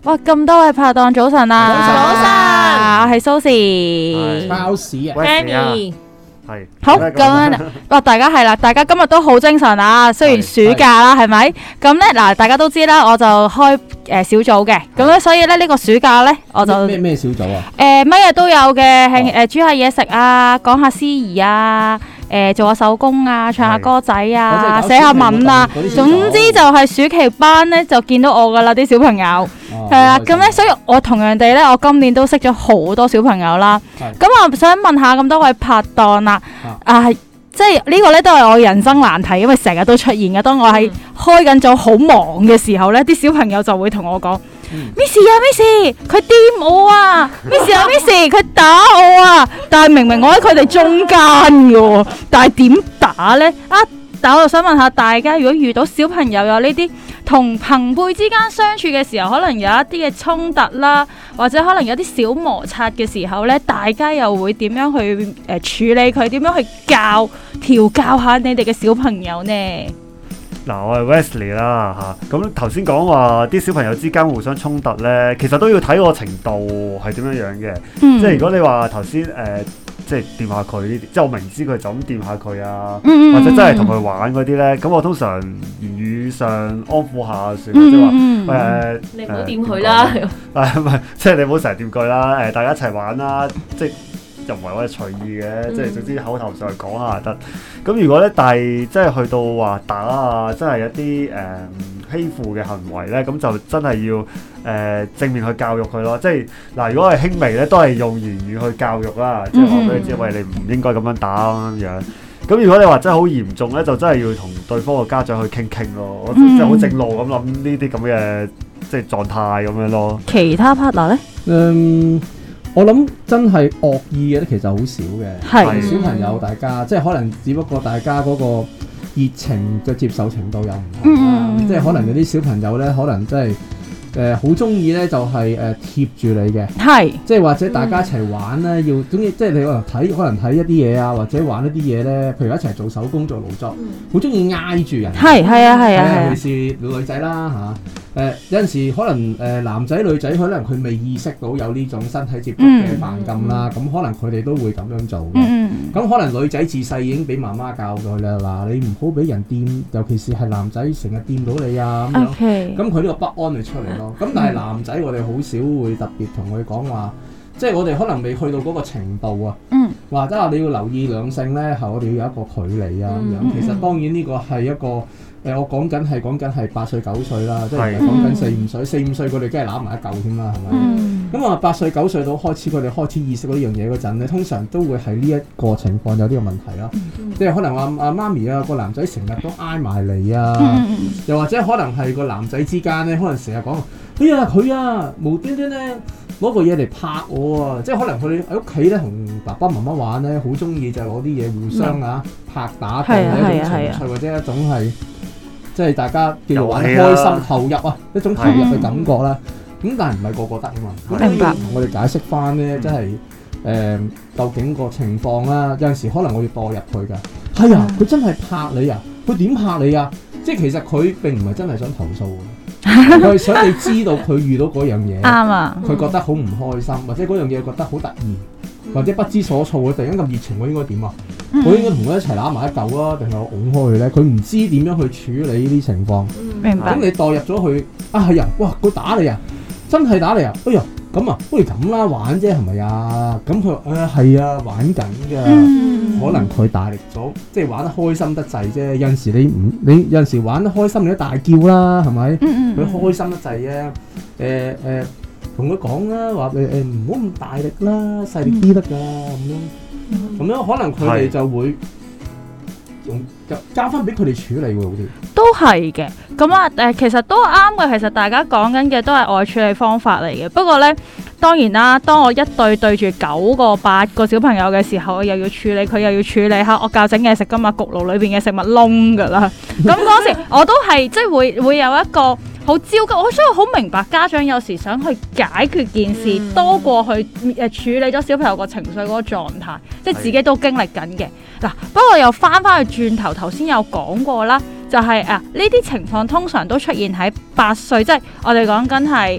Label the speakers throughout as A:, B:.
A: 哇！咁多位拍檔早晨啊！
B: 早晨，
A: 我係蘇士，
C: 包屎啊
B: Fanny
D: 係
A: 好咁樣。哇！大家係啦，大家今日都好精神啊！雖然暑假啦，係咪？咁咧嗱，大家都知啦，我就開小組嘅，咁咧所以咧呢個暑假咧，我就
C: 咩小組啊？
A: 乜嘢都有嘅，係煮下嘢食啊，講下司儀啊。做下手工啊，唱下歌仔啊，寫下文啊，總之就係暑期班咧就見到我噶啦啲小朋友，係啦，咁咧所以我同樣地咧，我今年都識咗好多小朋友啦。咁我想問下咁多位拍檔啦，即係呢個咧都係我人生難題，因為成日都出現嘅。當我喺開緊組好忙嘅時候咧，啲小朋友就會同我講：Miss 啊，Miss，佢掂我啊！Miss 啊，Miss，佢打我啊！但係明明我喺佢哋中間嘅喎，但係點打咧？但我就想問下大家，如果遇到小朋友有呢啲同朋輩之間相處嘅時候，可能有一啲嘅衝突啦，或者可能有啲小摩擦嘅時候咧，大家又會點樣去處理佢？點樣去調教下你哋嘅小朋友呢？
D: 嗱，我係 Wesley 啦嚇，咁頭先講話啲小朋友之間互相衝突咧，其實都要睇個程度係點樣樣嘅。即係如果你話頭先即係掂下佢呢啲，即係我明知佢就咁掂下佢啊，或者真係同佢玩嗰啲咧，咁我通常言語上安撫下算，即係話
B: 你唔好掂佢啦，
D: 唔係，即係你唔好成日掂佢啦，大家一齊玩啦，即係又唔係我哋隨意嘅，即係總之口頭上講下就得。咁如果咧，但係即係去到話打啊，真係一啲欺負嘅行為咧，咁就真係要正面去教育佢咯。即係嗱，如果係輕微咧，都係用言語去教育啦，即係話俾佢知，喂，你唔應該咁樣打咁樣。咁如果你話真係好嚴重咧，就真係要同對方嘅家長去傾傾咯。我即係好正路咁諗呢啲咁嘅即係狀態咁樣咯。
A: 其他 partner 咧？
C: 我諗真係惡意嘅咧，其實好少嘅。係小朋友，大家即係可能只不過大家嗰個熱情嘅接受程度又唔同啦。即係可能有啲小朋友咧，可能真係好中意咧，就係貼住你嘅。係，即係或者大家一齊玩咧，要中意即係你可能睇一啲嘢啊，或者玩一啲嘢咧，譬如一齊做手工做勞作，好中意挨住人。係啊，尤其是女仔啦嚇。有陣時可能男仔女仔可能佢未意識到有呢種身體接觸嘅犯禁啦，咁可能佢哋都會咁樣做嘅。咁可能女仔自細已經俾媽媽教佢啦，嗱你唔好俾人掂，尤其是係男仔成日掂到你啊咁樣。咁佢呢個不安就出嚟咯。咁但係男仔我哋好少會特別同佢講話，即係我哋可能未去到嗰個程度啊。或者話你要留意兩性咧，係我哋要有一個距離啊咁樣。其實當然呢個係一個。我講緊係8歲9歲啦，即係講緊4、5歲，4、5歲佢哋梗係攬埋一嚿添啦，係咪？咁8歲9歲到開始，佢哋開始意識到呢樣嘢嗰陣咧，通常都會係呢一個情況有呢個問題咯。即係可能話媽咪啊，個男仔成日都挨埋嚟啊，又或者可能係個男仔之間咧，可能成日講，哎呀佢啊無端端咧攞個嘢嚟拍我啊！即係可能佢哋喺屋企咧同爸爸媽媽玩咧，好中意就攞啲嘢互相拍打嘅一種情趣，或者一種係。即係大家叫做玩開心投入啊，一種投入嘅感覺啦。咁但係唔係個個得啊嘛。咁你要同我哋解釋翻咧，即係究竟個情況啦。有陣時可能我要代入佢㗎。係啊，佢真係拍你啊！佢點拍你啊？即係其實佢並唔係真係想投訴嘅，佢係想你知道佢遇到嗰樣嘢，啱啊，佢覺得好唔開心，或者嗰樣嘢覺得好突然，或者不知所措嘅，突然間咁熱情，我應該點啊？我應該同佢一齊攬埋一嚿啊，定係我拱開佢咧？佢唔知點樣去處理呢啲情況。明白。咁你代入咗去係啊，哇！佢打你啊，真係打你啊！哎呀，咁啊，不如咁啦，玩啫，係咪啊？咁佢係啊，玩緊㗎。可能佢大力咗，即係玩得開心得滯啫。有陣時你有陣時玩得開心，你都大叫啦，係咪？佢開心得滯啫。同佢講啦，話唔好咁大力啦，細力啲得㗎咁樣可能佢哋就會用交翻俾佢哋處理喎，好似
A: 都係嘅。咁其實都啱嘅。其實大家講緊嘅都係愛處理方法嚟嘅。不過咧，當然啦，當我一對住9個8個小朋友嘅時候，我又要處理佢，又要處理下我教整嘢食㗎嘛，焗爐裏邊嘅食物燶㗎啦。咁嗰時我都係即係會有一個好焦急，所以我好明白家長有時想去解決件事，多過去處理咗小朋友個情緒嗰個狀態，即係自己都經歷緊嘅。嗱，不過又翻去轉頭先有講過啦，就係呢啲情況通常都出現喺8歲，即係我哋講緊係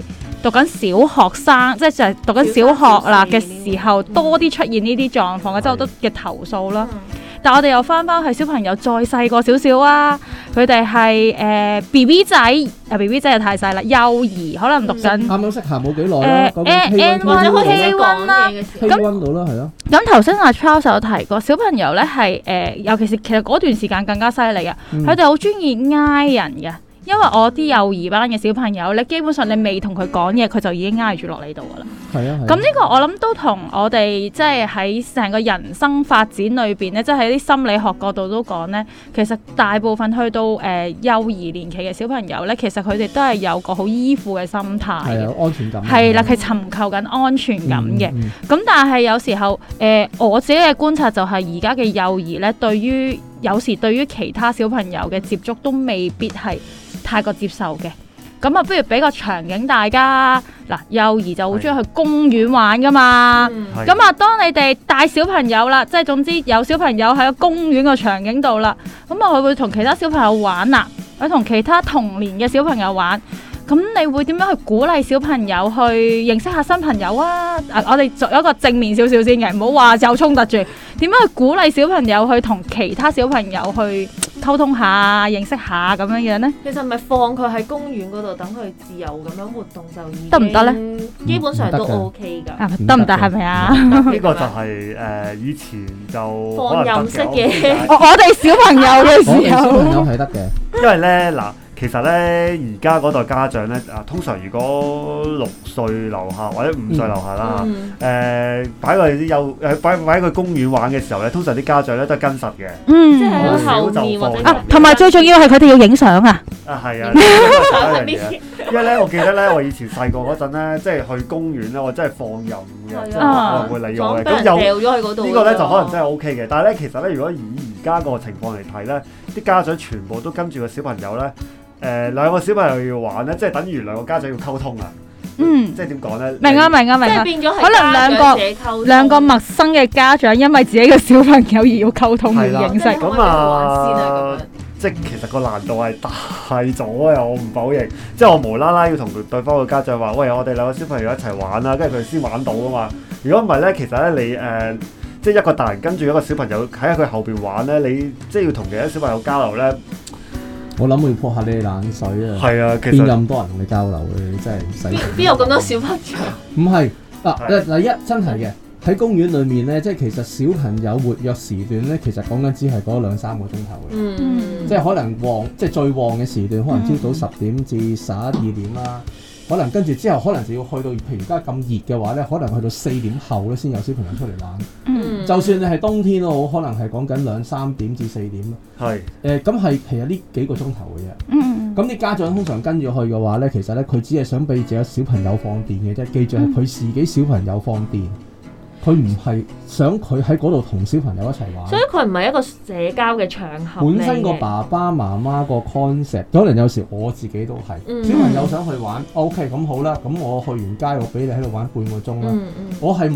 A: 讀緊小學生，即係就係讀緊小學啦嘅時候，多啲出現呢啲狀況嘅，即係好多嘅投訴啦。但係我哋又翻去小朋友再細個少少啊，佢哋係BB 仔，BB 仔又太細啦，幼兒可能讀緊
C: 啱啱識行冇幾耐啦，講緊
A: K1 啦
C: ，K1 到啦，係咯。
A: 咁頭先阿 Charles 有提過，小朋友咧係尤其是其實嗰段時間更加犀利嘅，佢哋好中意挨人嘅。因為我啲幼兒班嘅小朋友咧，基本上你未同佢講嘢，佢就已經挨住落你度噶啦。係啊。咁呢個我諗都同我哋即係喺成個人生發展裏邊咧，即係喺啲心理學角度都講咧，其實大部分去到幼兒年期嘅小朋友咧，其實佢哋都係有個好依附嘅心態嘅。係啊，安全感。係啦，佢尋求緊安全感嘅。咁但係有時候我自己嘅觀察就係而家嘅幼兒咧，有時對於其他小朋友嘅接觸都未必係太過接受嘅，咁啊，不如俾個場景大家嗱，幼兒就好中意去公園玩噶嘛，咁啊，當你哋帶小朋友啦，即係總之有小朋友喺個公園個場景度啦，咁啊，佢會同其他小朋友玩啦，佢同其他同年嘅小朋友玩，咁你會點樣去鼓勵小朋友去認識下新朋友啊？我哋作一個正面少少先嘅，唔好話有衝突住，點樣去鼓勵小朋友去同其他小朋友去溝通下、認識下咁樣樣咧？
B: 其實咪放佢喺公園嗰度，等佢自由咁樣活動就已經
A: 得唔得咧？
B: 基本上都 OK 㗎。
A: 得唔得？係咪啊？
D: 呢個就係以前就
B: 放任式嘅。
A: 我哋小朋友嘅時候，
C: 小朋友係得嘅，
D: 因為咧嗱。其實咧，而家嗰代家長咧，通常如果6歲樓下或者5歲樓下啦，擺佢去公園玩嘅時候咧，通常啲家長咧都係跟實嘅，
B: 即係喺後面或者
A: 同埋最重要係佢哋要影相啊！
D: 係啊，呢個係一樣嘢。因為咧，我記得咧，我以前細個嗰陣咧，即係去公園咧，我真係放任嘅，即係冇人會理我嘅。咁掉咗去嗰度，呢個咧就可能真係 OK 嘅。但係咧，其實咧，如果以而家個情況嚟睇咧，啲家長全部都跟住個小朋友咧。兩個小朋友要玩咧，即係等於兩個家長要溝通啊。即係點講咧？
A: 明啊！即係
B: 變咗係
A: 可能兩個陌生嘅家長，因為自己嘅小朋友而要溝通而認識。
D: 咁即係其實個難度係大咗嘅，我唔否認。即係我無啦啦要同對方嘅家長話：喂，我哋兩個小朋友一齊玩啦，跟住佢哋先玩到啊嘛。如果唔係咧，其實咧你即係一個大人跟住一個小朋友喺佢後邊玩咧，你即係要同其他小朋友交流咧。
C: 我諗會潑下你哋冷水啊！
D: 係啊，其實
C: 邊有咁多人同你交流嘅？你真係唔使。
B: 邊有咁多小朋友？
C: 唔係第一真係嘅喺公園裏面咧，即係其實小朋友活躍時段咧，其實講緊只係嗰2-3個鐘頭嘅。即係可能即係最旺嘅時段，可能朝早10點至11-12點啦。可能跟住之後，可能就要去到，譬如而家咁熱嘅話咧，可能去到4點後咧先有小朋友出嚟玩。就算你係冬天都好，可能係講緊2-3點至4點咯。係咁係其實呢幾個鐘頭嘅啫。咁啲家長通常跟住去嘅話咧，其實咧佢只係想俾自己小朋友放電嘅啫。記住係佢自己小朋友放電。佢唔係想佢喺嗰度同小朋友一齊玩，
B: 所以佢唔係一個社交嘅場合。
C: 本身個爸爸媽媽個 concept，可能有時我自己都係小朋友想去玩，OK 咁好啦，咁我去完街，我俾你喺度玩半個鐘啦。我係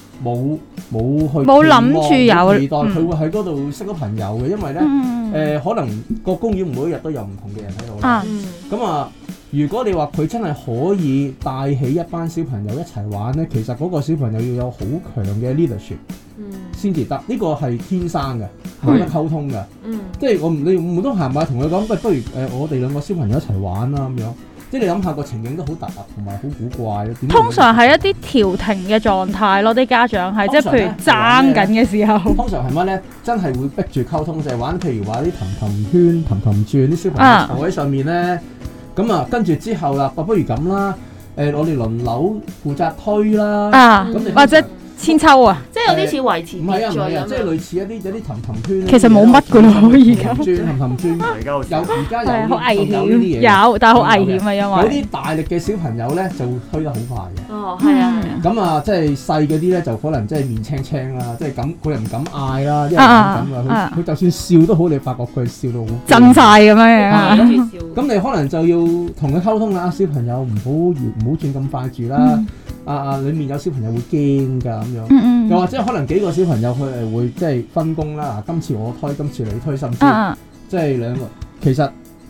C: 冇諗住有期待佢會喺嗰度識到朋友嘅，因為咧可能個公園每一日都有唔同嘅人喺度。咁啊。如果你話佢真係可以帶起一班小朋友一齊玩咧，其實嗰個小朋友要有好強嘅 leadership 先至得，呢個係天生嘅，冇得溝通嘅。即係你唔通行埋同佢講，不如我哋兩個小朋友一齊玩啦咁樣。即係你諗下個情景都好突兀同埋好古怪咯。
A: 通常係一啲調停嘅狀態咯，啲家長係即係譬如爭緊嘅時候。
C: 通常係乜咧？真係會逼住溝通，就係玩譬如話啲氹圈、氹轉，啲小朋友坐喺上面咧。咁啊，跟住之後啦，不如咁啦，我哋輪流負責推啦，
A: 或者千秋啊，
B: 即係有啲似維持秩序咁，
C: 即係類似有啲氹圈。
A: 其實冇乜㗎咯，而家
C: 氹轉，而家有
A: 好危險，有但係好危險啊，因為
C: 有啲大力嘅小朋友咧就推得好快嘅。
B: 哦，係啊。
C: 咁啊，即係細嗰啲咧就可能即係面青青啦，即係咁佢又唔敢嗌啦，因為唔敢啊，佢就算笑都好，你發覺佢笑到好
A: 震晒咁樣。
C: 咁你可能就要同佢溝通啦，小朋友唔好轉咁快住啦。裡面有小朋友會驚㗎咁樣，又或者可能幾個小朋友佢係會即係分工啦。今次我推，今次你推，甚至即係兩個。其實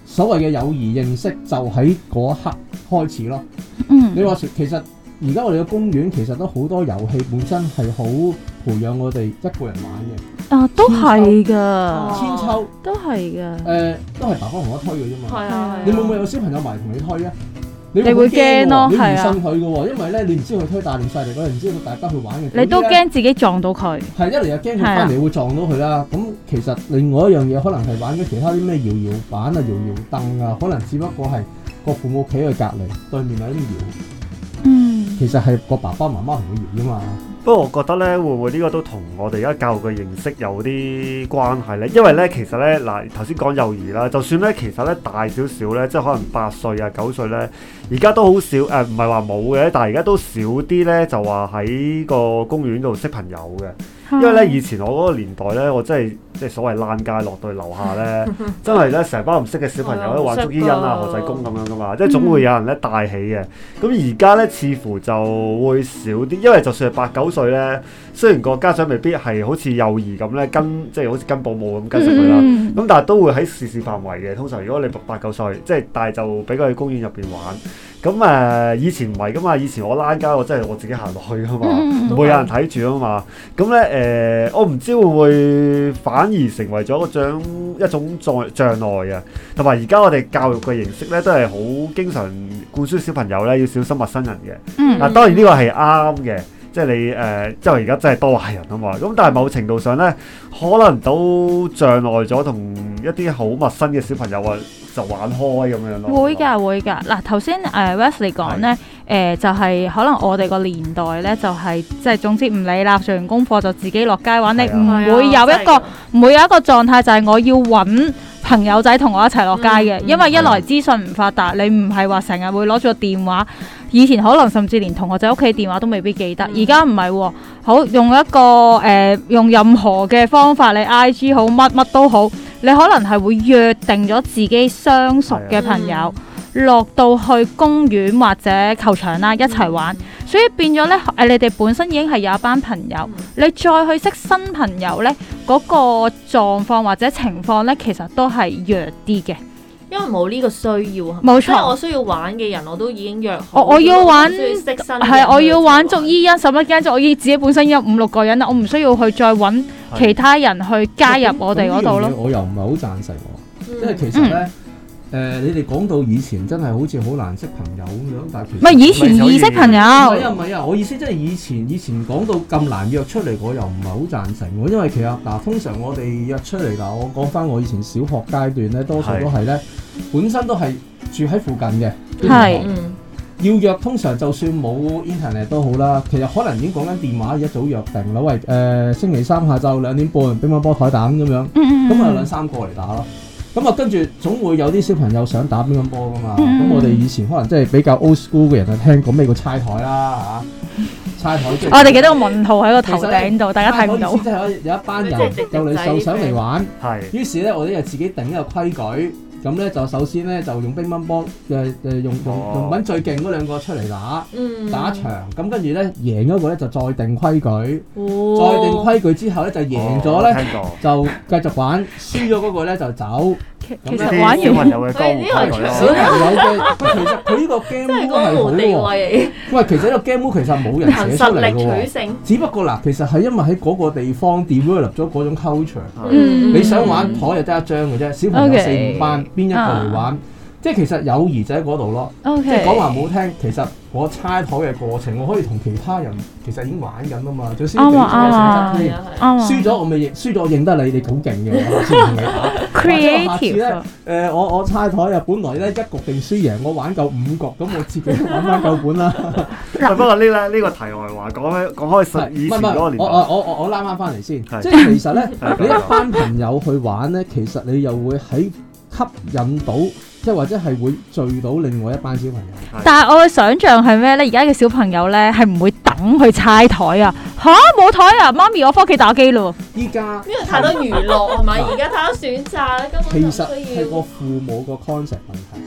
C: 所謂嘅友誼認識就喺嗰一刻開始咯。你話其實而家我哋嘅公園其實都好多遊戲本身係好培養我哋一個人玩嘅。
A: 啊，都係㗎，
C: 千秋
A: 都係㗎。
C: 都係爸爸同我推嘅啫嘛。
B: 係啊，
C: 你會唔會有小朋友埋同你推啊？你
A: 會驚咯，
C: 你唔
A: 係啊。
C: 信佢嘅喎，因為咧你唔知佢推大定細力嗰陣，唔知佢大家去玩嘅。
A: 你都驚自己撞到佢。
C: 係一嚟又驚佢翻嚟會撞到佢啦。咁其實另外一樣嘢可能係玩緊其他啲咩搖搖板啊、搖搖凳啊，可能只不過係個父母企喺佢隔離對面喺度搖。其實係個爸爸媽媽同佢搖啫嘛。
D: 不過我覺得咧，會唔會呢個都同我哋而家教育嘅形式有啲關係咧？因為咧，其實咧嗱，頭先講幼兒啦，就算咧，其實咧大少少咧，即係可能8歲啊、9歲咧，而家都好少唔係話冇嘅，但係而家都少啲咧，就話喺個公園度識朋友嘅。因為咧，以前我嗰個年代咧，我真係即係所謂躝街落到樓下咧，真係咧成班唔識嘅小朋友咧玩捉伊人啊、何濟公咁樣噶嘛，即係總會有人咧帶起嘅。咁而家咧似乎就會少啲，因為就算係8、9歲咧，雖然個家長未必係好似幼兒咁咧即係好似跟保姆咁跟實佢啦，咁但係都會喺視線範圍嘅。通常如果你8、9歲，即係但係就俾佢去公園入邊玩。咁以前唔係噶嘛，以前我躝街我真係我自己行落去噶嘛，唔會有人睇住啊嘛。咁咧我唔知會唔會反而成為咗一種障礙啊。同埋而家我哋教育嘅形式咧，都係好經常灌輸小朋友咧要小心陌生人嘅。嗱，當然呢個係啱嘅。即係你即係而家真係多壞人啊嘛，咁但係某程度上咧，可能都障礙咗同一啲好陌生嘅小朋友就玩開咁樣咯。
A: 會㗎。嗱，頭先Wesley 講咧，就係可能我哋個年代咧，就係即係總之唔理啦，做完功課就自己落街玩，你唔會有一個狀態就係我要揾朋友仔同我一齊落街嘅，因為一來資訊唔發達，你唔係話成日會攞住個電話。以前可能甚至連同學仔屋企電話都未必記得，而家唔係喎，好用一個用任何嘅方法，你 IG 好乜都好，你可能係會約定咗自己相熟嘅朋友，落到去公園或者球場啦一齊玩，所以變咗咧你哋本身已經係有一班朋友，你再去識新朋友咧，嗰個狀況或者情況咧，其實都係弱啲嘅。
B: 因為冇呢個需要，
A: 冇錯。
B: 即係我需要玩嘅人，我都已經約好。
A: 我要玩
B: 係
A: 我要玩捉伊人，使乜驚啫？我自己本身有5、6個人啦，我唔需要去再揾其他人去加入我哋嗰度咯。
C: 我又唔係好贊成喎，因為其實咧。你哋講到以前真係好似好難識朋友咁樣，但係其實
A: 唔係以前易識朋友。
C: 唔係啊！我意思即係以前講到咁難約出嚟，我又唔係好贊成喎。因為其實通常我哋約出嚟我講翻我以前小學階段咧，多數都係咧，本身都係住喺附近嘅。係。要約通常就算冇 internet 都好啦，其實可能已經講緊電話一早約定啦。喂星期三下晝2點半乒乓波台打咁樣，咁啊2、3個嚟打咯。咁啊，跟住總會有啲小朋友想打乒乓波噶嘛。咁我哋以前可能即係比較 old school 嘅人啊，聽過咩叫猜台啦嚇，猜台即係
A: 我哋記得個問號喺個頭頂度，大家睇唔到。
C: 即係有一班人就上嚟玩，於是咧我哋就自己定一個規矩。咁咧就首先咧就用乒乓波用揾最勁嗰2個出嚟打一場，咁跟住咧贏嗰個咧就再定規矩，再定規矩之後咧就贏咗咧就繼續玩，輸咗嗰個咧就走。
A: 其實玩完
D: 小朋友嘅江湖規矩咯，
C: 小朋友嘅其實佢呢個 game mode 係好喎。喂，其實呢個 game mode 其實冇人寫出嚟嘅喎，只不過嗱，其實係因為喺嗰個地方 develop 咗嗰種 culture。你想玩台就得一張嘅啫，小朋友4、5班邊一個嚟玩？即係其實友誼就喺嗰度咯。即係講話唔好聽，其實我猜台嘅過程，我可以同其他人其實已經玩緊啊嘛。最少比賽性質添，輸咗我咪輸咗，我認得你好勁嘅，我先同你打。
A: Creative
C: 咧，我猜台啊，本來咧1局定輸贏，我玩夠5局，咁我自己玩翻夠本啦。
D: 不過呢個題外話講開以前嗰個年代，
C: 我拉翻嚟先，即係其實咧，你一班朋友去玩咧，其實你又會喺吸引到。即係或者係會聚到另外一班小朋友。
A: 但係我嘅想像係咩咧？而家嘅小朋友咧係唔會等去猜台啊！嚇冇台啊！媽咪我返屋企打機咯。
C: 依家
B: 因為太多娛樂係咪？而家太多選擇啦，根本
C: 其實係個父母個 concept 問題。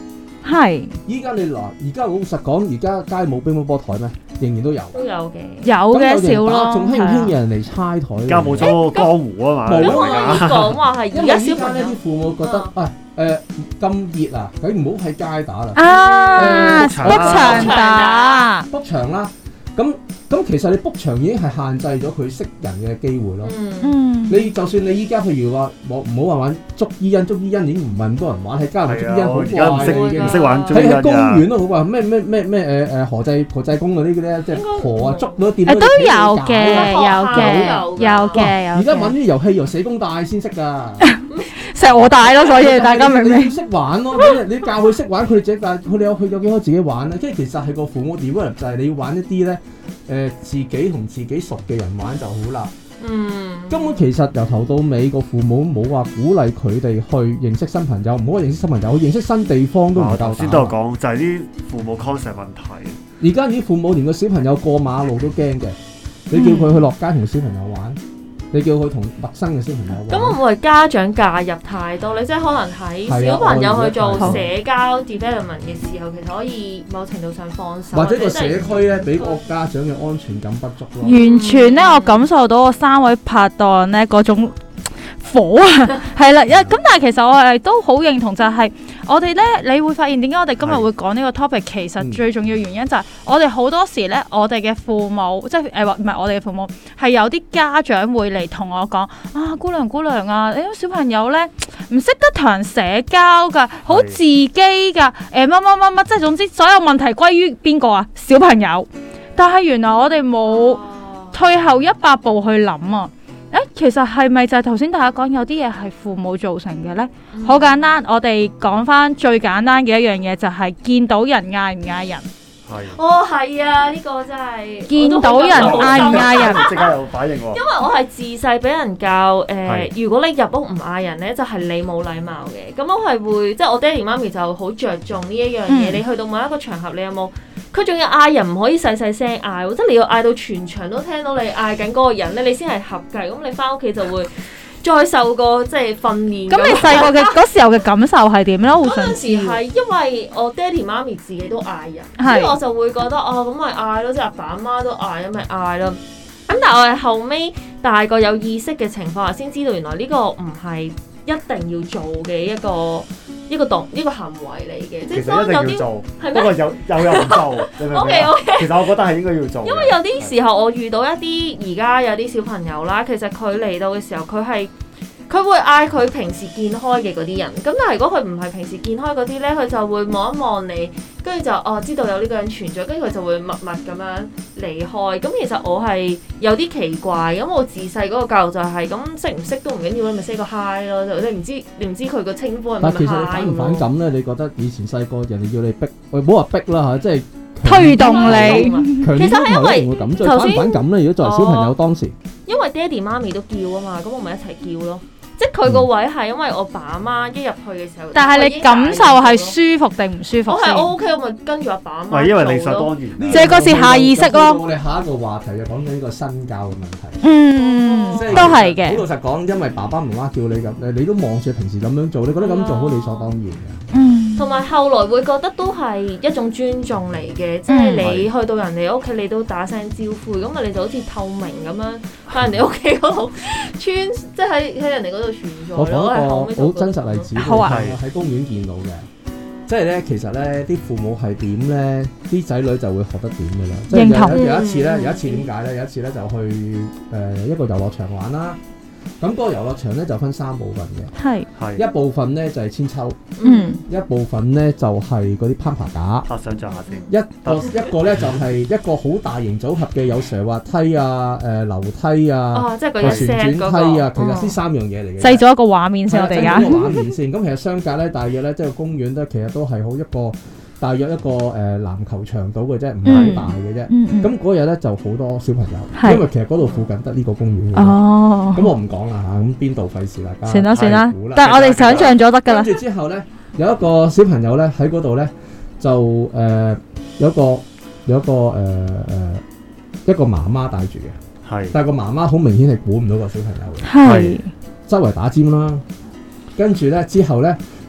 A: 係。
C: 依家你嗱，而家老實講，而家街冇乒乓波台咩？仍然都有。
B: 都有嘅。
A: 有嘅少咯。
C: 仲興唔興有人嚟猜台？
D: 而家冇咗江湖啊嘛。
B: 咁可以講話係而家小朋友
C: 啲父母覺得咁熱啊，佢唔好喺街打啦。
A: book場打
C: book 場啦。咁其實你 book 場已經係限制咗佢識人嘅機會咯。你就算你依家譬如話唔好話玩捉伊人已經唔係咁多人玩，喺街度捉伊人好怪嘅，
D: 唔識玩捉伊人。
C: 喺公園都好話咩何濟公嗰啲咧，即係河啊捉到掂到。
A: 都有嘅。
C: 而家玩啲遊戲由社工帶先識㗎。
A: 石我帶咯，所以大家明唔明？
C: 你要識玩咯，你教佢識玩，佢哋自己佢哋有幾可自己玩咧？即係其實係個父母 develop 就係你要玩一啲咧，自己同自己熟嘅人玩就好啦。根本其實由頭到尾個父母冇話鼓勵佢哋去認識新朋友，唔好話認識新朋友，去認識新地方都唔夠膽。
D: 先都有講就係啲父母 concept 問題。
C: 而家啲父母連個小朋友過馬路都驚嘅，你叫佢去落街同小朋友玩。你叫佢同陌生嘅小朋友玩，
B: 咁會唔會家長介入太多咧？即係可能喺小朋友去做社交 development 嘅時候，其實可以某程度上放手，
C: 或者個社區咧俾個家長嘅安全感不足咯。
A: 完全咧，我感受到我3位拍檔咧嗰種火啊，係啦，咁但係其實我係都好認同，就係我哋咧，你會發現點解我哋今日會講呢個 topic？其實最重要原因就係我哋好多時咧，我哋嘅父母，即係唔係我哋嘅父母，係有啲家長會嚟同我講啊，姑娘啊，你啲小朋友咧唔識得同人社交㗎，好自己㗎，乜，即係總之所有問題歸於邊個啊？小朋友。但係原來我哋冇退後100步去諗啊！其實係咪就係頭先大家講有啲嘢係父母造成嘅呢？好簡單，我哋講翻最簡單嘅一樣嘢就係見到人嗌唔嗌人。
B: 係啊，呢個真係
A: 見到人嗌唔嗌人，
D: 即刻有反應喎。
B: 因為我係自細俾人教如果你入屋唔嗌人呢，就係你冇禮貌嘅。咁我係會即係我爹哋媽咪就好着重呢一樣嘢。你去到某一個場合，你有冇？佢仲要嗌人唔可以細細聲嗌，即係你要嗌到全場都聽到你嗌緊嗰個人咧，你先係合格。咁你翻屋企就會再受過即係訓練。咁
A: 你細個嘅嗰時候嘅感受係點咧？嗰
B: 陣時係因為我爹哋媽咪自己都嗌人，所以我就會覺得咁咪嗌咯，即係阿爸阿媽都嗌，咁咪嗌咯。咁但係我係後尾大個有意識嘅情況下，先知道原來呢個唔係一定要做嘅一個行為嚟嘅，即係當有啲
D: 不過有人唔做，你明唔明？
B: OK，
D: 其實我覺得係應該要做。
B: 因為有啲時候我遇到一啲而家有啲小朋友啦，其實佢嚟到嘅時候，佢會嗌佢平時見開嘅嗰啲人。咁但係如果佢唔係平時見開嗰啲咧，佢就會望一望你，跟住就知道有呢個人存在，跟住佢就會默默咁樣離開。咁其實我係有啲奇怪，咁我自細嗰個教育就係咁，識唔識都唔緊要，你咪 say 個 hi 咯。你唔知佢個稱呼係咪 hi？
C: 但其實你反唔反感咧？你覺得以前細個人哋要你逼，唔好話逼啦嚇，即係
A: 推動你。
C: 其實係因為頭先反唔反感咧？如果作為小朋友當時，
B: 因為爹哋媽咪都叫啊嘛，咁我咪一齊叫咯。即係佢個位係因為我爸阿媽一入去嘅時候，
A: 但係你感受係舒服定唔舒服？
B: 我係 OK，我咪跟住阿爸阿媽。
D: 係因為理所當然。
A: 即係嗰時下意識咯。
C: 我哋下一個話題就講緊呢個身教嘅問題。
A: 都係嘅。
C: 好老實講，因為爸爸媽媽叫你咁，你都望住平時咁樣做，你覺得咁做好理所當然嘅。
B: 同埋後來會覺得都係一種尊重嚟嘅，即係你去到人哋屋企，你都打聲招呼，咁你就好似透明咁樣喺人哋屋企嗰度即係喺人哋嗰度存在。
C: 我講一個好真實例子，喺公園見到嘅，即係咧，其實咧啲父母係點咧，啲仔女就會學得點嘅啦。即係有一次點解咧？有一次咧就去一個遊樂場玩啦。咁嗰個遊樂場咧就分3部分嘅，係一部分咧就係千秋，一部分咧就係嗰啲攀爬架，
D: 想像下先。
C: 一個咧就係一個好大型組合嘅，有斜滑梯啊、樓梯啊、
B: 即係個
C: 旋轉梯啊，其實呢3樣嘢嚟嘅。
A: 製造一個畫面先，我哋而家。
C: 製造一個畫面先。咁其實相隔咧，大約咧即係公園咧，其實都係好大約一個籃球場度嘅啫，唔係好大嘅啫。咁嗰日咧就好多小朋友，因為其實嗰度附近得呢個公園嘅。咁我唔講啦嚇，咁邊度費事大家。算啦，
A: 但係我哋想像咗得㗎啦。
C: 跟住之後咧，有一個小朋友咧喺嗰度咧，就有一個媽媽帶住嘅，但係個媽媽好明顯係估唔到個小朋友嘅，周圍打尖啦。跟住咧之後咧。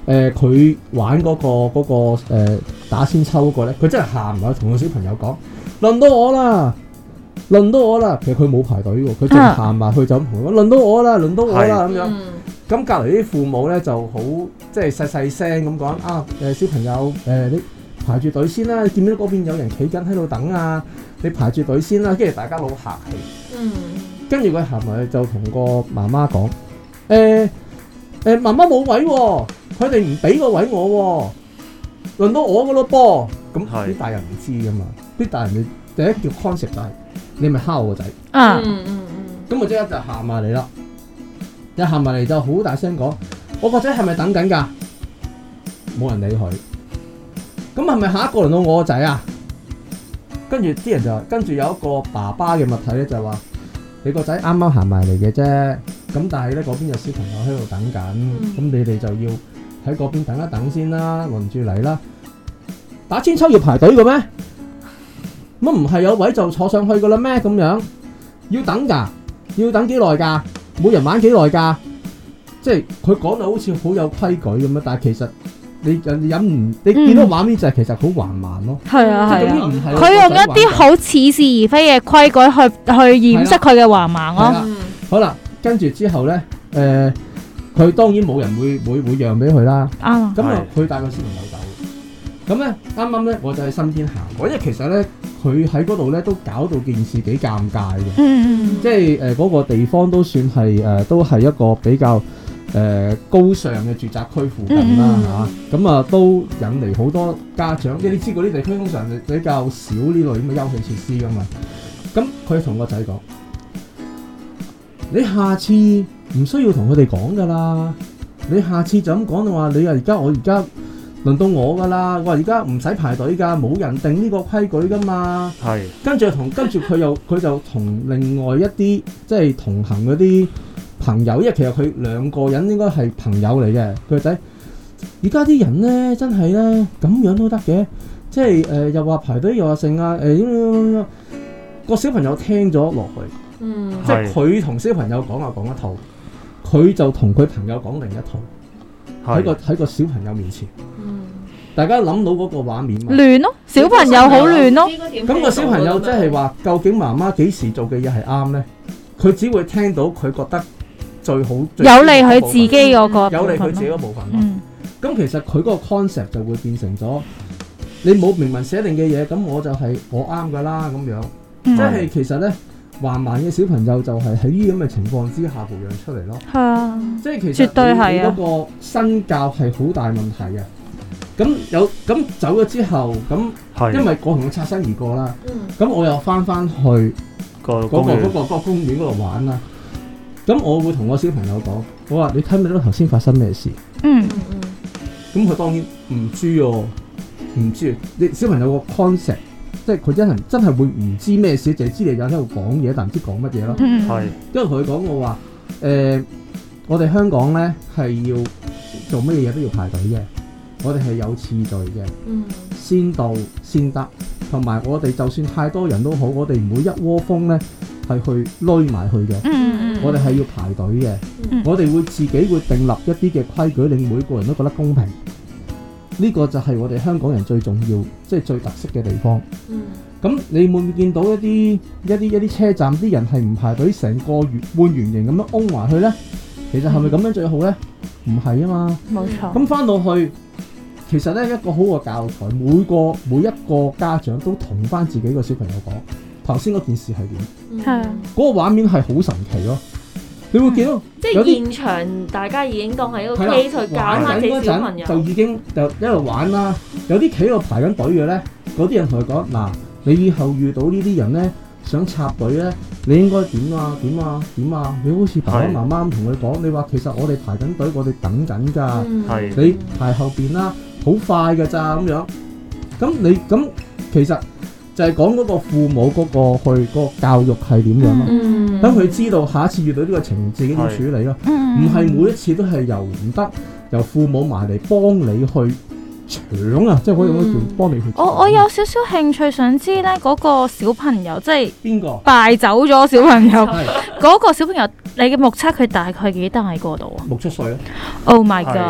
C: 佢玩嗰個打千秋嗰個咧，佢真係行埋去同個小朋友講：輪到我啦！輪到我啦！其實佢冇排隊喎，佢淨係行埋去就咁同佢講：輪到我啦！輪到我啦！咁樣。咁隔離啲父母咧就好即係細聲咁講啊！小朋友你排住隊先啦！你見唔見到嗰邊有人企緊喺度等啊？你排住隊先啦！跟住大家好客氣。跟住佢行埋去就同個媽媽講：媽媽冇位喎，佢哋唔俾個位我喎，輪到我噶咯噃。咁啲大人唔知噶嘛，啲大人第一叫 concept 就係你咪蝦我個仔。咁我即刻就行埋嚟啦，一行埋嚟就好大聲講：我個仔係咪等緊㗎？冇人理佢。咁係咪下一個輪到我個仔啊？跟住啲人就跟住有一個爸爸嘅物體咧，就話：你個仔啱啱行埋嚟嘅啫。咁但係咧嗰邊有小朋友喺度等緊，咁你哋就要喺嗰邊等一等先啦，輪住嚟啦。打千秋要排隊嘅咩？乜唔係有位就坐上去嘅啦咩？咁樣要等㗎，要等幾耐㗎？每人玩幾耐㗎？即係佢講到好似好有規矩咁樣，但係其實你見到畫面就係其實好橫蠻咯。
A: 係啊係啊，佢用一啲好似是而非嘅規矩去掩飾佢嘅橫蠻咯。
C: 好啦，跟住之後咧，佢當然冇人會讓俾佢啦。咁啊，佢帶個小朋友走。咁咧，啱啱咧，我就喺身邊行過，因為其實咧，佢喺嗰度咧都搞到件事幾尷尬嘅。即係嗰個地方都算係都係一個比較高尚嘅住宅區附近啦嚇。咁啊，都引嚟好多家長，因為你知嗰啲地區通常比較少呢類咁嘅休憩設施噶嘛。咁佢同個仔講：你下次唔需要同佢哋講噶啦，你下次就咁講就話你啊，我而家輪到我噶啦，我話而家唔使排隊噶，冇人定呢個規矩噶嘛。係。跟住佢就同另外一啲即係同行嗰啲朋友，因為其實佢兩個人應該係朋友嚟嘅。佢個仔，而家啲人咧真係咧咁樣都得嘅，即係又話排隊又話剩啊個小朋友聽咗落去，即係佢同小朋友講一套，佢就同佢朋友講另一套。喺個小朋友面前，大家諗到嗰個畫面嘛？亂咯，小朋友好亂咯。咁個小朋友即係話，究竟媽媽幾時做嘅嘢係啱咧？佢只會聽到佢覺得最好、
A: 有利佢自己嗰個，
C: 有利佢自己嗰部分咯。咁其實佢嗰個 concept 就會變成咗，你冇明文寫定嘅嘢，咁我就係我啱噶啦咁樣。即係其實咧。橫蠻嘅小朋友就係喺呢啲咁嘅情況之下培養出嚟咯。係啊，即係其實你嗰個身教係好大問題嘅。咁走咗之後，咁因為我同佢擦身而過啦。咁我又翻去嗰個公園嗰度玩啦。咁我會同我小朋友講：我話你睇唔睇到頭先發生咩事？咁佢當然唔知喎，唔知。你小朋友個 concept。即係佢真係會唔知咩事，淨係知你有喺度講嘢，但唔知講乜嘢咯。係，因為同佢講我話我哋香港咧係要做乜嘢都要排隊嘅，我哋係有次序嘅，先到先得，同埋我哋就算太多人都好，我哋唔會一窩蜂咧係去攏埋去嘅。我哋係要排隊嘅，我哋會自己會訂立一啲嘅規矩，令每個人都覺得公平。呢個就係我哋香港人最重要，即係最特色嘅地方。咁你會唔會見到一啲車站啲人係唔排隊，成個半圓形咁樣擁埋去呢？其實係咪咁樣最好呢？唔係啊嘛。冇錯。咁翻到去，其實呢一個好嘅教材，每一個家長都同翻自己個小朋友講，頭先嗰件事係點？係。嗰個畫面係好神奇咯。你會見到，
B: 即係現場大家已經當係一個 case 去教翻啲小朋友，
C: 就已經就一路玩啦。有啲企喺度排緊隊嘅咧，嗰啲人同佢講：嗱，你以後遇到呢啲人咧，想插隊咧，你應該點啊？點啊？點啊？你好似爸爸媽媽咁同佢講，你話其實我哋排緊隊，我哋等緊㗎。你排後邊啦，好快㗎咋咁樣。咁其實。就係講嗰個父母嗰個教育係點樣咯，等佢知道下一次遇到呢個情形自己點處理咯，唔係每一次都係由父母埋嚟幫你去搶啊，即係可以用一條幫你去搶。
A: 我有少少興趣想知咧，嗰個小朋友即係
C: 邊個
A: 敗走咗小朋友？嗰個小朋友，你嘅目測佢大概幾大個度啊？
C: 6、7歲咯。
A: Oh my god！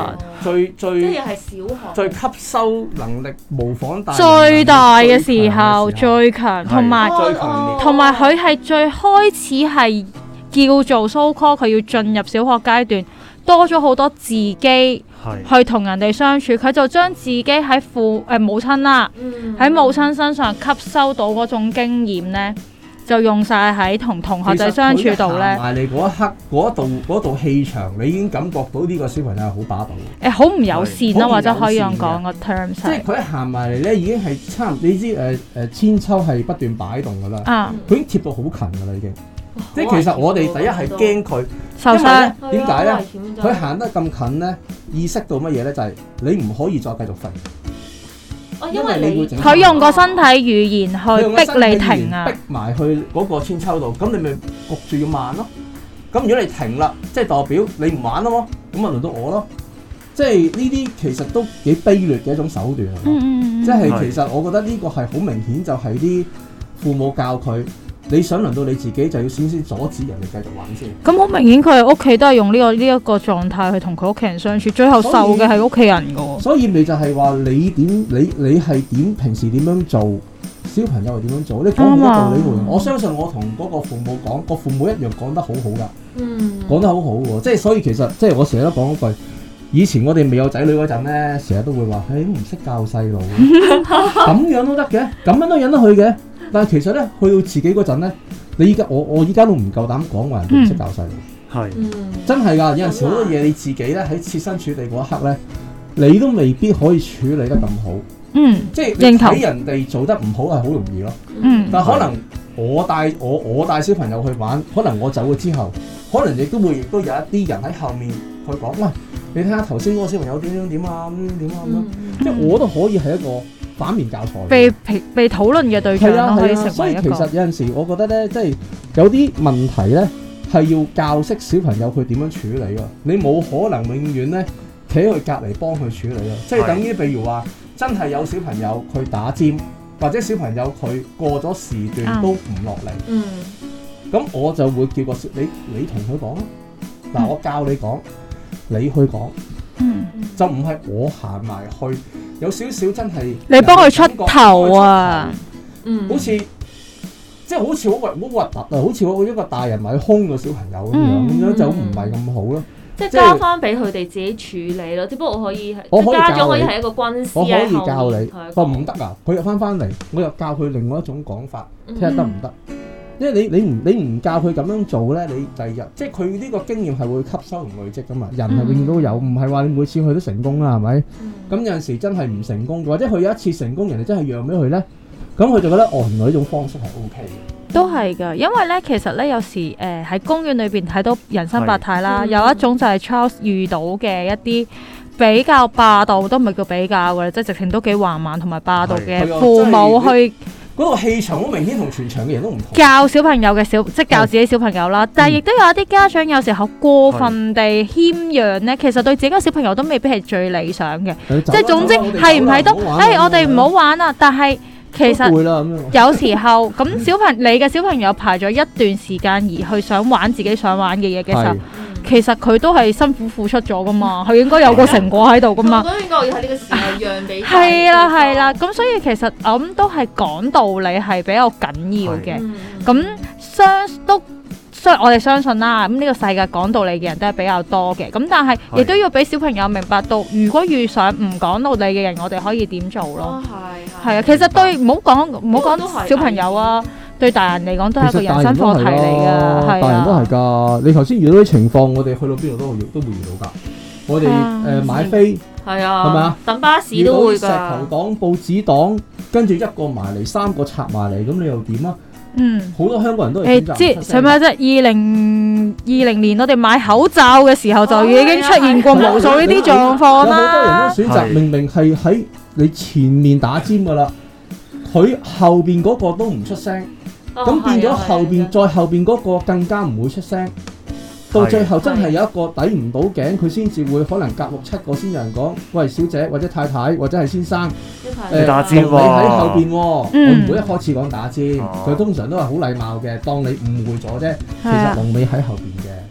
B: 即係係小學
C: 最吸收能力模仿大人
A: 最大嘅時候最強，同埋
C: 最強烈，
A: 同埋佢係最開始係叫做 so call 佢要進入小學階段，多咗好多自己去同人哋相處，佢就將自己喺母親啦，喺母親身上吸收到嗰種經驗咧，就用晒喺同同學仔相處度咧。
C: 埋嚟嗰一刻，嗰度氣場，你已經感覺到呢個小朋友係好霸道。
A: 好唔友善啦，或者可以咁講個 terms。
C: 即係佢一行埋嚟咧，已經係差唔多，你知千秋係不斷擺動㗎啦。佢已經貼到好近㗎啦，已經。即係其實我哋第一係驚佢
A: 受傷。
C: 點解咧？佢行得咁近咧，意識到乜嘢咧？就係你唔可以再繼續吠。因為你會
A: 佢用個身體語言去逼你停啊，
C: 逼埋去嗰個千秋度，咁你咪焗住要慢咯。咁如果你停啦，即係代表你唔玩咯，咁咪輪到我咯。即係呢啲其實都幾卑劣嘅一種手段啊。即係其實我覺得呢個係好明顯，就係啲父母教佢。你想輪到你自己，就要先阻止人哋繼續玩先。
A: 咁好明顯，佢係屋企都係用呢一個狀態去同佢屋企人相處，最後受嘅係屋企人㗎。
C: 所以咪就係話你係點平時點樣做，小朋友係點樣做？你講好多道理喎。我相信我同嗰個父母講，個父母一樣講得好好㗎。講得好好喎。即係所以其實即係我成日都講嗰句，以前我哋未有仔女嗰陣咧，成日都會話：唔識教細路，咁樣都得嘅，咁樣都忍得去嘅。但係其實咧，去到自己嗰陣咧，你依家我依家都唔夠膽講話人哋唔識教細路，係真係㗎。有陣時好多嘢你自己咧喺設身處地嗰一刻咧，你都未必可以處理得咁好。即係你睇人哋做得唔好係好容易咯。但係可能我帶小朋友去玩，可能我走咗之後，可能亦都有一啲人喺後面去講：喂，你睇下頭先嗰個小朋友點啊點啊咁樣。即係我都可以係一個反面教材，
A: 被討論嘅對象咯，可以成為一個。
C: 所以其實有陣時，我覺得咧，即係有啲問題咧，係要教識小朋友佢點樣處理喎。你冇可能永遠咧企喺佢隔離幫佢處理咯。即係等於譬如話，真係有小朋友佢打尖，或者小朋友佢過咗時段都唔落嚟。咁我就會叫個你同佢講啦。嗱，我教你講，你去講。就唔係我行埋去，有少少真係
A: 你幫佢出頭啊！
C: 好似即係好似好核突啊！好似我一個大人埋去兇個小朋友咁樣就唔係咁好咯。
B: 即係交翻俾佢哋自己處理咯。只不過我可以家長可以係一個軍師，
C: 我可以教你。我唔得啊！佢又翻嚟，我又教佢另外一種講法，睇下得唔得？因為你唔教佢咁樣做咧，你第二日即係佢呢個經驗係會吸收同累積噶嘛。人係永遠都有，唔係話你每次去都成功啦，係咪？咁有陣時真係唔成功，或者佢有一次成功，人哋真係讓俾佢咧，咁佢就覺得原來呢種方式係 OK 嘅。
A: 都係㗎，因為咧其實咧有時喺公園裏邊睇到人生百態啦，有一種就係 Charles 遇到嘅一啲比較霸道，都唔係叫比較嘅，即係直情都幾橫蠻同埋霸道嘅父母去。
C: 嗰個氣場好明顯同全場嘅人都唔同。
A: 教小朋友嘅即係教自己小朋友啦，但係亦都有一啲家長有時候過分地謙讓咧，其實對自己個小朋友都未必係最理想嘅。即係總之係唔係都，我哋唔好玩啊！但係其實有時候咁你嘅小朋友排咗一段時間而去想玩自己想玩嘅嘢嘅時候。其實佢都係辛苦付出咗噶嘛，佢應該有個成果喺度噶嘛。
B: 我應該要喺呢個時候讓俾佢。
A: 係啦，咁所以其實我諗都係講道理係比較緊要嘅。咁我哋相信啦，咁呢個世界講道理嘅人都係比較多嘅。咁但係亦都要俾小朋友明白到，如果遇上唔講道理嘅人，我哋可以點做咯。係啊，其實對唔好講小朋友啊。對大人嚟講都係一個人生課題嚟㗎，
C: 大人都係㗎。你頭先遇到啲情況，我哋去到邊度都會遇到㗎。我哋買飛係咪啊？
B: 等巴士都會㗎。
C: 石頭黨、報紙黨，跟住一個埋嚟，3個插埋嚟，咁你又點啊？好多香港人都係選擇唔出聲。
A: 使乜啫？2020年我哋買口罩嘅時候就已經出現過無數呢啲狀況啦。
C: 有好多人都選擇明明係喺你前面打尖㗎啦，佢後邊嗰個都唔出聲。咁變咗再後邊嗰個更加唔會出聲，到最後真係有一個抵唔到頸，佢先至會可能隔6-7個先有人講：喂，小姐或者太太或者係先生，
D: 你打尖喎，
C: 你喺後邊喎。我唔會一開始講打尖，佢通常都係好禮貌嘅，當你誤會咗啫。其實龍尾喺後邊嘅。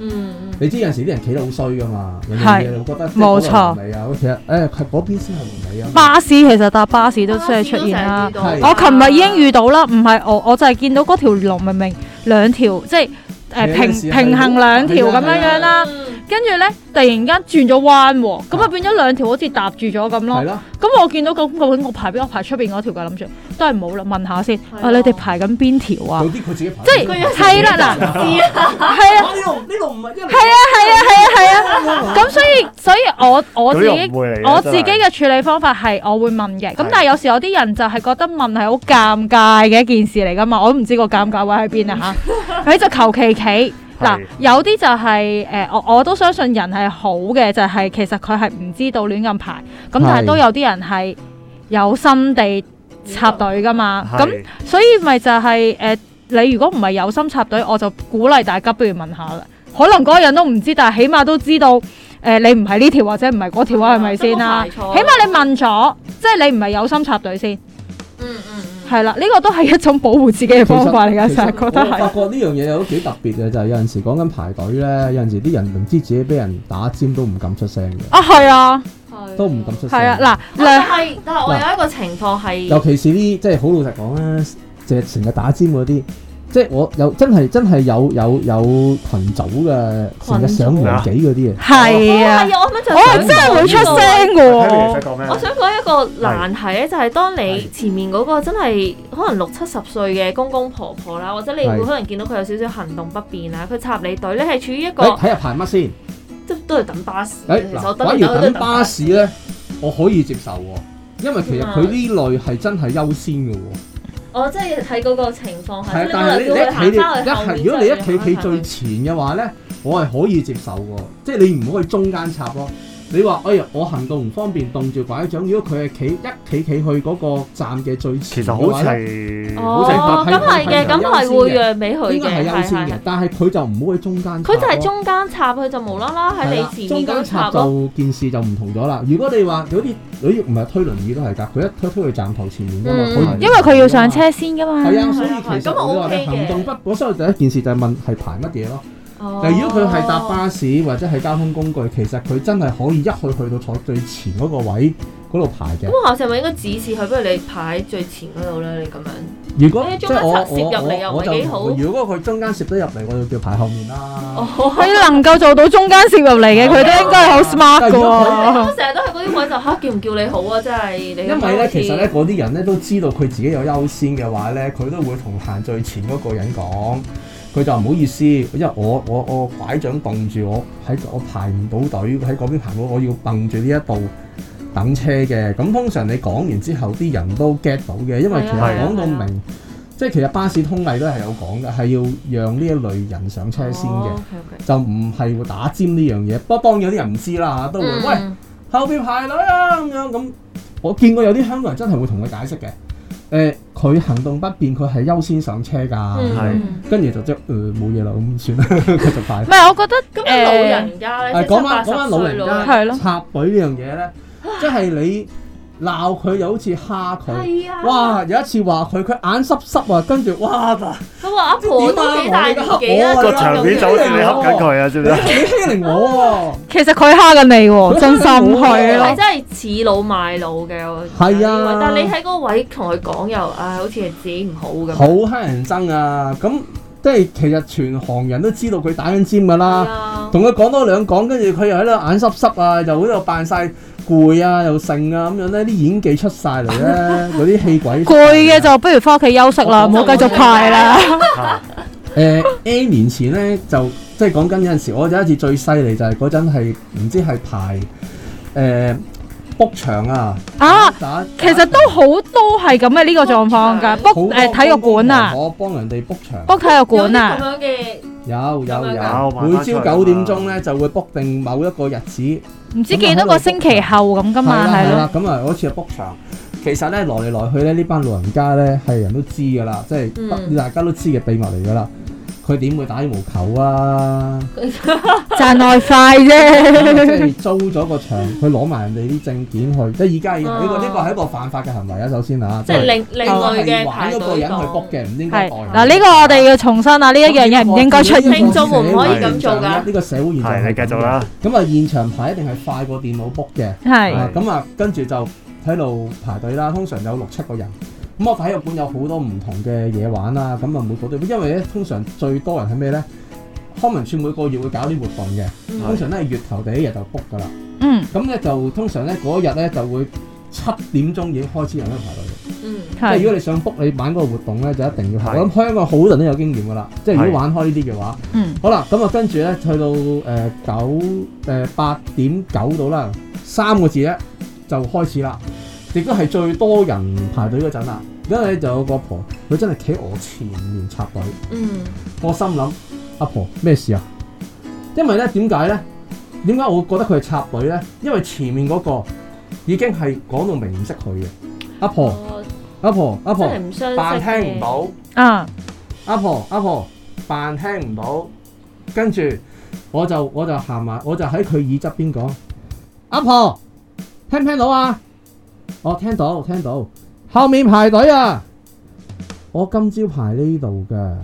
C: 你知有陣時啲人企得好衰噶嘛，人哋會覺得
A: 冇錯。
C: 其實嗰邊先係龍尾啊。
A: 巴士其實搭巴士都即係出現啦。我琴日已經遇到啦，唔係我就係見到嗰條龍明明兩條即係平衡兩條咁樣啦。跟住咧，突然間轉咗彎喎，咁啊變咗兩條好似搭住咗咁咯。咁我見到咁究竟我排邊？我排出邊嗰條㗎，諗住都係冇啦。問下先，你哋排緊邊條啊？
C: 有啲佢自己排。
A: 即係係啦，嗱，係啊，
C: 呢度唔係因為
A: 係啊。咁所以我自己嘅處理方法係我會問嘅。咁但係有時有啲人就係覺得問係好尷尬嘅一件事嚟㗎嘛，我都唔知個尷尬位喺邊啊嚇。佢就求其企。嗱，有啲就係我都相信人係好嘅，就係其實佢係唔知道亂咁排，咁但係都有啲人係有心地插隊噶嘛，咁所以咪就係你如果唔係有心插隊，我就鼓勵大家不如問下啦。可能嗰個人都唔知，但係起碼都知道你唔係呢條或者唔係嗰條啊，係咪先啦？起碼你問咗，即係你唔係有心插隊先。係啦，呢個都係一種保護自己嘅方法嚟㗎，成日覺得係。我發覺呢樣嘢都幾特別嘅，就係有陣時講緊排隊咧，有陣時啲人明知自己俾人打尖都唔敢出聲嘅。啊，係啊，都唔敢出聲。係啊，嗱，
B: 但係我有一個情況係，
C: 尤其是啲即係好老實講啦，即係成日打尖嗰啲。即係我有真係有群組嘅，成日上年紀嗰啲啊，
A: 係啊，我真係會出聲嘅喎。
B: 我想講一個難題咧，就係當你前面嗰個真係可能60-70歲嘅公公婆婆啦，或者你會可能見到佢有少少行動不便啊，佢插你隊咧係處於一個
C: 睇下排乜先，
B: 即都係等巴士。
C: 反而等巴士咧，我可以接受喎，因為其實佢呢類係真係優先嘅喎。
B: 我即係睇嗰個情況係，
C: 但係你如果你一企最前嘅話咧，我係可以接受嘅，即係你唔可以中間插咯。你話哎呀，我行動唔方便，棟住拐杖。如果佢係企去嗰個站嘅最前嘅話咧，
B: 咁係嘅，咁係會讓俾佢嘅，
C: 應該係優先嘅。但係佢就唔好喺中間。
B: 佢就係中間插，佢就無啦啦喺你前面嗰度插咯。
C: 中間插就件事就唔同咗啦。如果你話有啲唔係推輪椅都係㗎，佢一推去站頭前面㗎嘛，
A: 因為佢要上車先㗎嘛。
C: 係啊，所以其實你話你行動不便，所以第一件事就係問係排乜嘢咯。但如果佢係搭巴士或者係交通工具，其實佢真係可以一去到坐最前嗰個位嗰度排嘅。
B: 咁下次係咪應該指示佢，不如你排喺最前嗰度咧？你咁樣。
C: 如果
B: 即係我攝入嚟又唔係幾好。
C: 如果佢中間攝得入嚟，我就叫排後面啦。
A: 佢能夠做到中間攝入嚟嘅，佢都應該係好 smart 㗎。
B: 我成日都喺嗰啲位就叫唔叫你好啊！真係你。
C: 因為咧，其實咧嗰啲人咧都知道佢自己有優先嘅話咧，佢都會同行最前嗰個人講。佢就唔好意思，因為我拐杖棟住我排唔到隊喺嗰邊排，我要掟住呢一度等車嘅。咁通常你講完之後，啲人都 get 到嘅，因為其實講到明，即係其實巴士通例都係有講嘅，係要讓呢一類人上車先嘅，就唔係會打尖呢樣嘢。不過當然有啲人唔知啦嚇，都會喂後邊排隊啊咁樣咁。我見過有啲香港人真係會同佢解釋嘅。佢行動不便，佢係優先上車㗎，跟住就即冇嘢啦，咁算啦，繼續排。
A: 唔係，我覺得
B: 咁老人家咧，
C: 講翻老人家插隊呢樣嘢咧，即係你鬧佢又好似蝦佢，哇！有一次話佢眼濕濕啊，跟住哇！
B: 佢話阿婆都幾大年紀啦，
D: 個場面就好似你恰緊佢啊，知唔知？
C: 你欺凌我喎！
A: 其實佢蝦緊你喎，真心係咯，
B: 係真係恃老賣老嘅。
C: 係啊，
B: 但係你喺嗰個位同佢講又，好似係自己唔好咁。
C: 好乞人憎啊！咁即係其實全行人都知道佢打緊尖㗎啦，同佢講多兩講，跟住佢又喺度眼濕濕啊，又喺度扮晒攰啊，又剩啊咁樣咧，啲演技出晒嚟咧，嗰啲戲鬼
A: 攰嘅就不如翻屋企休息啦，唔好繼續排啦。
C: N 年前咧就即係講緊有陣時，我有一次最犀利就係嗰陣係唔知係排book 場啊！
A: 其實都好多係咁嘅呢個狀況㗎，book 體育館啊，
C: 我幫人哋 book 場
A: ，book 體育館啊，
B: 咁樣嘅。
C: 有，每朝9點鐘咧就會 book 定某一個日子，
A: 唔知幾多個星期後咁㗎嘛，係咯。
C: 咁啊，嗰次係 book 場，其實咧來嚟來去咧呢班老人家咧係人都知㗎啦，即係大家都知嘅秘密嚟㗎啦。 佢點會打羽毛球啊？
A: 賺外快啫。
C: 即係租咗個場，佢攞埋人哋啲證件去，即係而家呢個係一個犯法嘅行為啊！首先啊，
B: 即係另類嘅
C: 玩嗰個人去 book 嘅，唔應該代。
A: 嗱，呢個我哋要重申啊！呢一樣嘢唔應該出現。
B: 聽眾唔可以咁做㗎。
C: 呢個社會現象
D: 係你繼續啦。
C: 咁啊，現場排一定係快過電腦 book 嘅。
A: 係。
C: 咁啊，跟住就喺度排隊啦。通常有6-7個人。咁我體育館有好多唔同嘅嘢玩啦。咁啊，每個都因為咧，通常最多人係咩咧？康文署每個月會搞啲活動嘅，通常咧係月頭第一日就 book 㗎啦。咁咧就通常咧嗰日咧就會7點鐘已經開始有人排隊。即係如果你想 book 你玩嗰個活動咧，就一定要排。我諗香港好多人都有經驗㗎啦。即係如果玩開呢啲嘅話，好啦，咁啊跟住咧去到8點9到啦，3個字咧就開始啦，亦都係最多人排隊嗰陣啦。因為就有個婆，佢真係企我前面插隊。我心諗。阿婆咩事啊？因為咧點解咧？點解我覺得佢係插隊咧？因為前面嗰個已經係講到明唔識佢嘅。阿婆扮聽唔到。阿婆扮聽唔到。跟住我就行埋，我就喺佢耳側邊講：阿婆聽唔聽到啊？我聽到。後面排隊啊！我今朝排呢度㗎。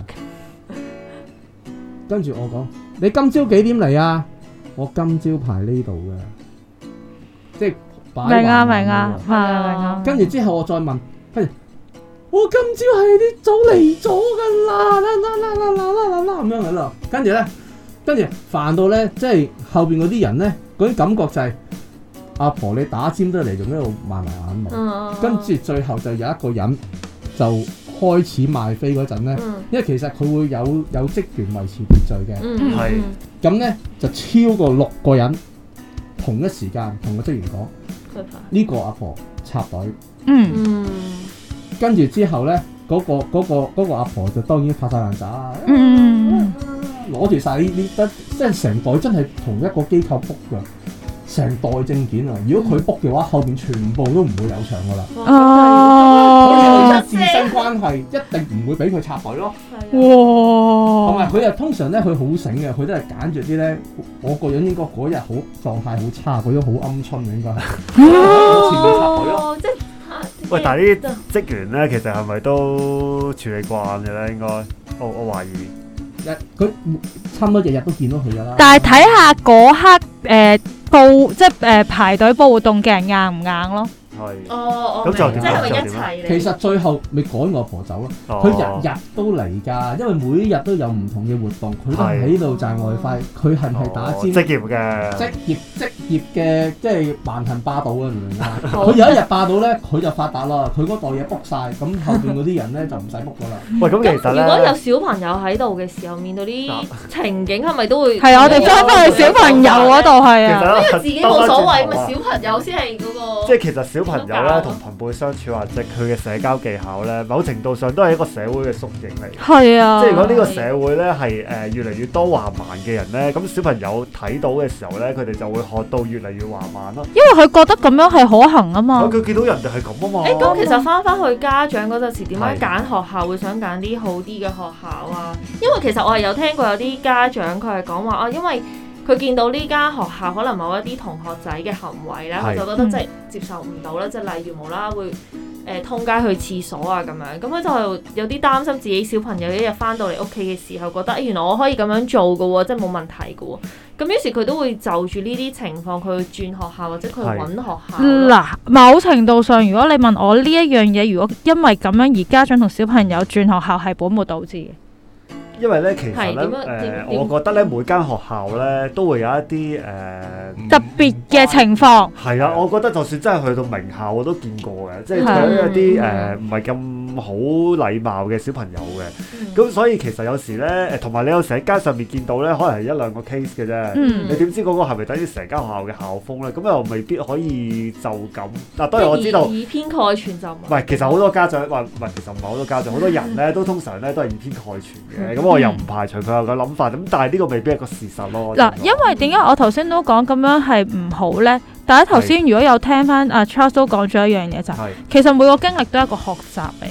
C: 跟住我講：你今朝幾點嚟啊？我今朝排呢度嘅，即係明啊！跟住之後我再問，跟住我今朝係啲早嚟咗㗎啦，咁樣喺度。跟住煩到咧，即係後邊嗰啲人咧，嗰啲感覺就係阿婆你打尖得嚟，仲喺度賣埋眼毛。跟住最後就有一個人就開始賣飛嗰陣咧，因為其實佢會有職員維持秩序嘅，咁咧就超過6個人同一時間同個職員講，呢個阿婆插隊，跟住之後咧嗰個阿婆就當然拍晒爛渣啦，攞住晒呢即係成袋真係同一個機構 book 㗎。成袋證件啊！如果佢 book 嘅話，後邊全部都唔會有場噶啦。佢哋自身關係一定唔會俾佢插隊咯。同埋佢又通常咧，佢好醒嘅，佢都係揀住啲咧。我個人應該嗰日好狀態好差，嗰種好鵪鶉嘅應該係。前面插隊咯。
D: 喂，但係呢啲職員咧，其實係咪都處理慣嘅咧？應該，我懷疑。
C: 佢差唔多日日都見到佢噶啦。
A: 但係睇下嗰刻即係排隊報活動嘅人硬唔硬咯？
D: 係。
B: 咁就即係咪一齊嚟？
C: 其實最後咪趕我婆走咯。佢日日都嚟㗎，因為每日都有唔同嘅活動，佢都喺度賺外快。佢係唔係打尖？
D: 職業嘅。
C: 職業嘅，即係橫行霸道啊！明唔明啊？佢有一日霸到咧，佢就發達啦。佢嗰袋嘢 book 晒，咁後邊嗰啲人咧就唔使 book 㗎啦。
D: 喂，咁其實咧，
B: 如果有小朋友喺度嘅時候，面對啲情景係咪都會？
A: 係啊，我哋翻去小朋友嗰度係啊。
B: 因為自己冇所謂，咪小朋友先係嗰個。
D: 即係其實小朋友咧同朋輩相處或者佢嘅社交技巧咧，某程度上都係一個社會嘅縮影嚟。
A: 係啊。
D: 即係如果呢個社會咧係越嚟越多橫蠻嘅人咧，咁小朋友睇到嘅時候咧，佢哋就會學到越嚟越橫蠻咯。
A: 因為佢覺得咁樣係可行啊嘛。
D: 佢見到人哋係咁啊嘛。
B: 咁其實翻去家長嗰陣時，點解揀學校會想揀啲好啲嘅學校啊？因為其實我係有聽過有啲家長佢係講話啊，因為佢見到呢間學校可能某一啲同學仔嘅行為咧，佢就覺得即係接受唔到啦，即係例如無啦啦會通街去廁所啊咁樣，咁佢就有啲擔心自己小朋友一日翻到嚟屋企嘅時候，覺得原來我可以咁樣做㗎喎，即係冇問題㗎喎。咁於是佢都會就住呢啲情況，佢去轉學校或者佢揾學校。
A: 嗱，某程度上，如果你問我呢一樣嘢，如果因為咁樣而家長同小朋友轉學校係本末倒置嘅。
D: 因為咧，其實咧，我覺得咧，每間學校咧都會有一啲
A: 特別嘅情況。
D: 係啊，我覺得就算真係去到名校，我都見過嘅，即係對於一啲唔係咁好禮貌嘅小朋友嘅。咁所以其實有時咧，同埋你有時喺街上面見到咧，可能係1-2個 case 嘅啫。你點知嗰個係咪等於成間學校嘅校風咧？咁又未必可以就咁。嗱，當然我知道
B: 以偏概全就唔
D: 係。其實好多家長話唔係，其實唔係好多家長，好多人咧都通常咧都係以偏概全嘅。咁我又唔排除佢有個諗法，咁但係呢個未必係個事實咯。
A: 嗱，因為點解我頭先都講咁樣係唔好咧？大家頭先如果有聽翻阿 Charles 都講咗一樣嘢就係，其實每個經歷都係一個學習嚟嘅。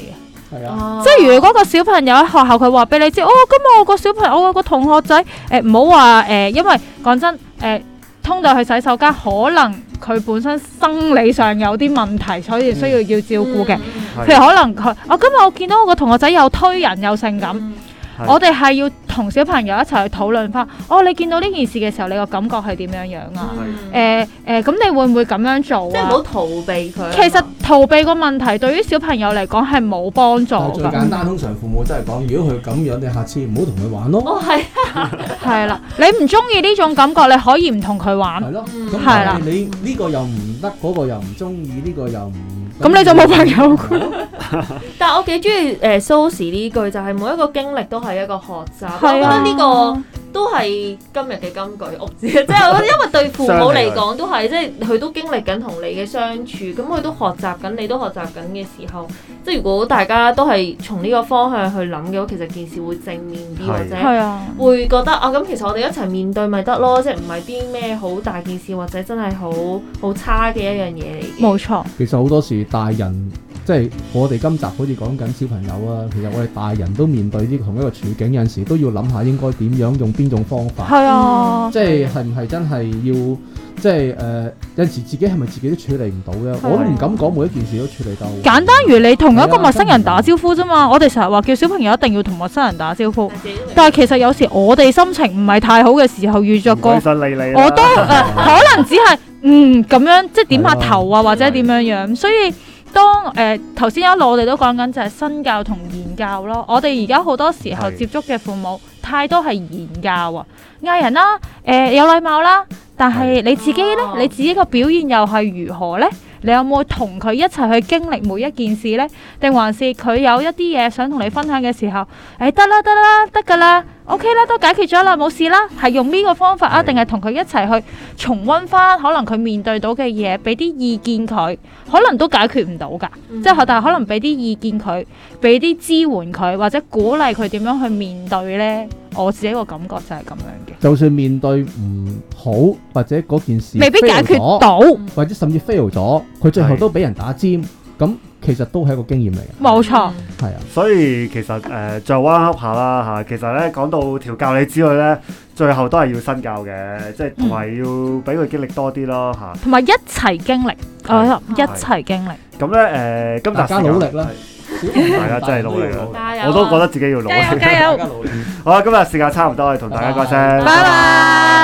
C: 係啊，
A: 即係如果個小朋友喺學校佢話俾你知，今日我個小朋友我個同學仔唔好話因為講真通到去洗手間，可能佢本身生理上有啲問題，所以需要照顧嘅。譬如可能今日我見到我個同學仔又推人又性感。我哋係要同小朋友一齊去討論翻，你見到呢件事嘅時候，你個感覺係點樣樣啊？咁你會唔會咁樣做啊？
B: 即係唔好逃避佢。
A: 其實逃避個問題對於小朋友嚟講係冇幫助㗎。
C: 最簡單，通常父母真係講，如果佢咁樣，你下次唔好同佢玩咯。
A: 係啦，你唔中意呢種感覺，你可以唔同佢玩。
C: 係咯，咁但係你呢個又唔得，嗰個又唔中意，呢個又唔。
A: 咁你就冇朋友。
B: 但係我幾中意Sosze 呢句，就係每一個經歷都係一個學習。我覺得呢個都係今日嘅金句屋字，即係我覺得因為對父母嚟講都係，即係佢都經歷緊同你嘅相處，咁佢都學習緊，你都學習緊嘅時候，即係如果大家都係從呢個方向去諗嘅話，其實件事會正面啲，或者會覺得咁其實我哋一齊面對咪得咯，即係唔係啲咩好大件事，或者真係好差嘅一樣嘢嚟嘅。
A: 冇錯。
C: 其實好多時大人。即係我哋今集好似講緊小朋友啊，其實我哋大人都面對呢同一個處境，有陣時都要諗下應該點樣用邊種方法。
A: 係啊，
C: 即係係唔係真係要即係有陣時自己係咪自己都處理唔到咧？我都唔敢講每一件事都處理到。
A: 簡單如你同一個陌生人打招呼啫嘛，我哋成日話叫小朋友一定要同陌生人打招呼，但係其實有時我哋心情唔係太好嘅時候遇着過，我都可能只係咁樣即係點下頭啊，或者點樣樣，所以。當頭先一路我哋都講緊就係身教同言教咯，我哋而家好多時候接觸嘅父母太多係言教啊，嗌人啦，有禮貌啦，但係你自己呢，你自己個表現又係如何呢？你有冇同佢一齊去經歷每一件事呢？定還是佢有一啲嘢想同你分享嘅時候，得啦得㗎啦 ，OK 啦，都解決咗啦，冇事啦，係用呢個方法啊？定係同佢一齊去重溫翻可能佢面對到嘅嘢，俾啲意見佢，可能都解決唔到㗎，即係但係可能俾啲意見佢，俾啲支援佢，或者鼓勵佢點樣去面對呢？我自己個感覺就係咁樣嘅。
C: 就算面對唔好，或者嗰件事
A: 未必解決到，
C: 或者甚至 fail 咗，佢最後都俾人打尖，咁其實都係一個經驗嚟嘅。
A: 冇錯，
C: 係啊。
D: 所以其實再彎噏下啦嚇，其實咧講到調教你之類咧，最後都係要身教嘅，即係同埋要俾佢經歷多啲咯嚇。
A: 同埋一齊經歷，一齊經歷。
D: 咁咧今集大家
C: 努力啦！
D: 大家真係努力啦！我都覺得自己要努力。
A: 加油！
D: 好啦，今日時間差唔多，同大家講聲，
A: 拜拜。